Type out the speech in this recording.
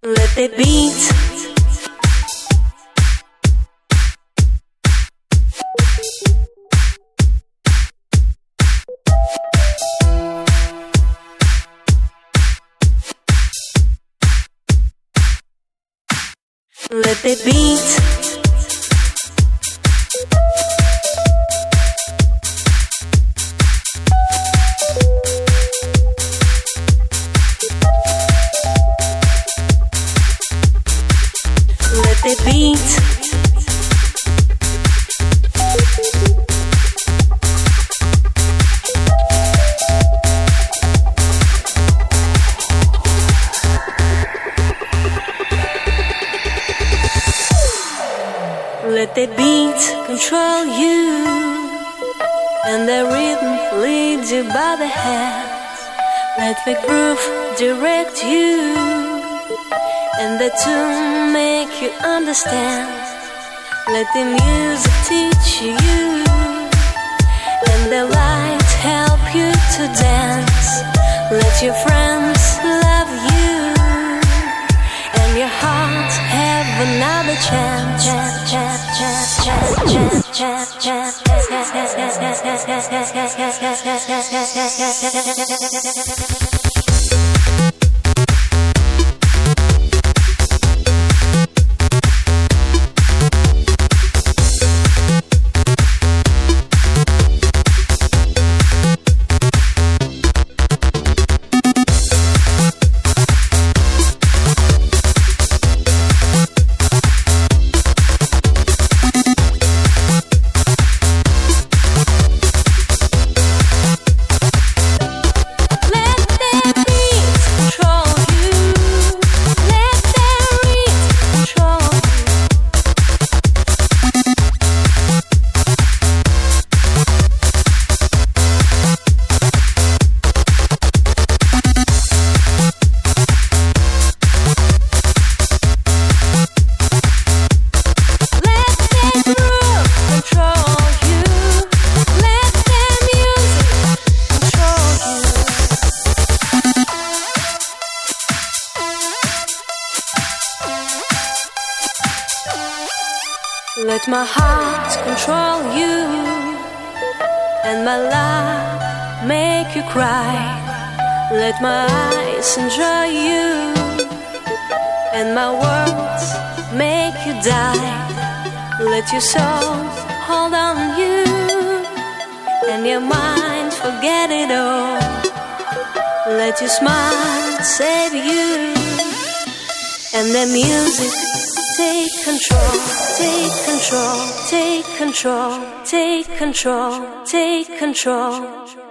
Let the beat let the beat let the beat let the beat control you, and the rhythm leads you by the hand. Let the groove direct you, and the tune make you understand. Let the music teach you, and the light help you to dance. Let your friends love you, and your heart have another chance. Let my heart control you, and my love make you cry. Let my eyes enjoy you, and my words make you die. Let your soul hold on you, and your mind forget it all. Let your smile save you, and the music take control, take control, take control, take control, take control.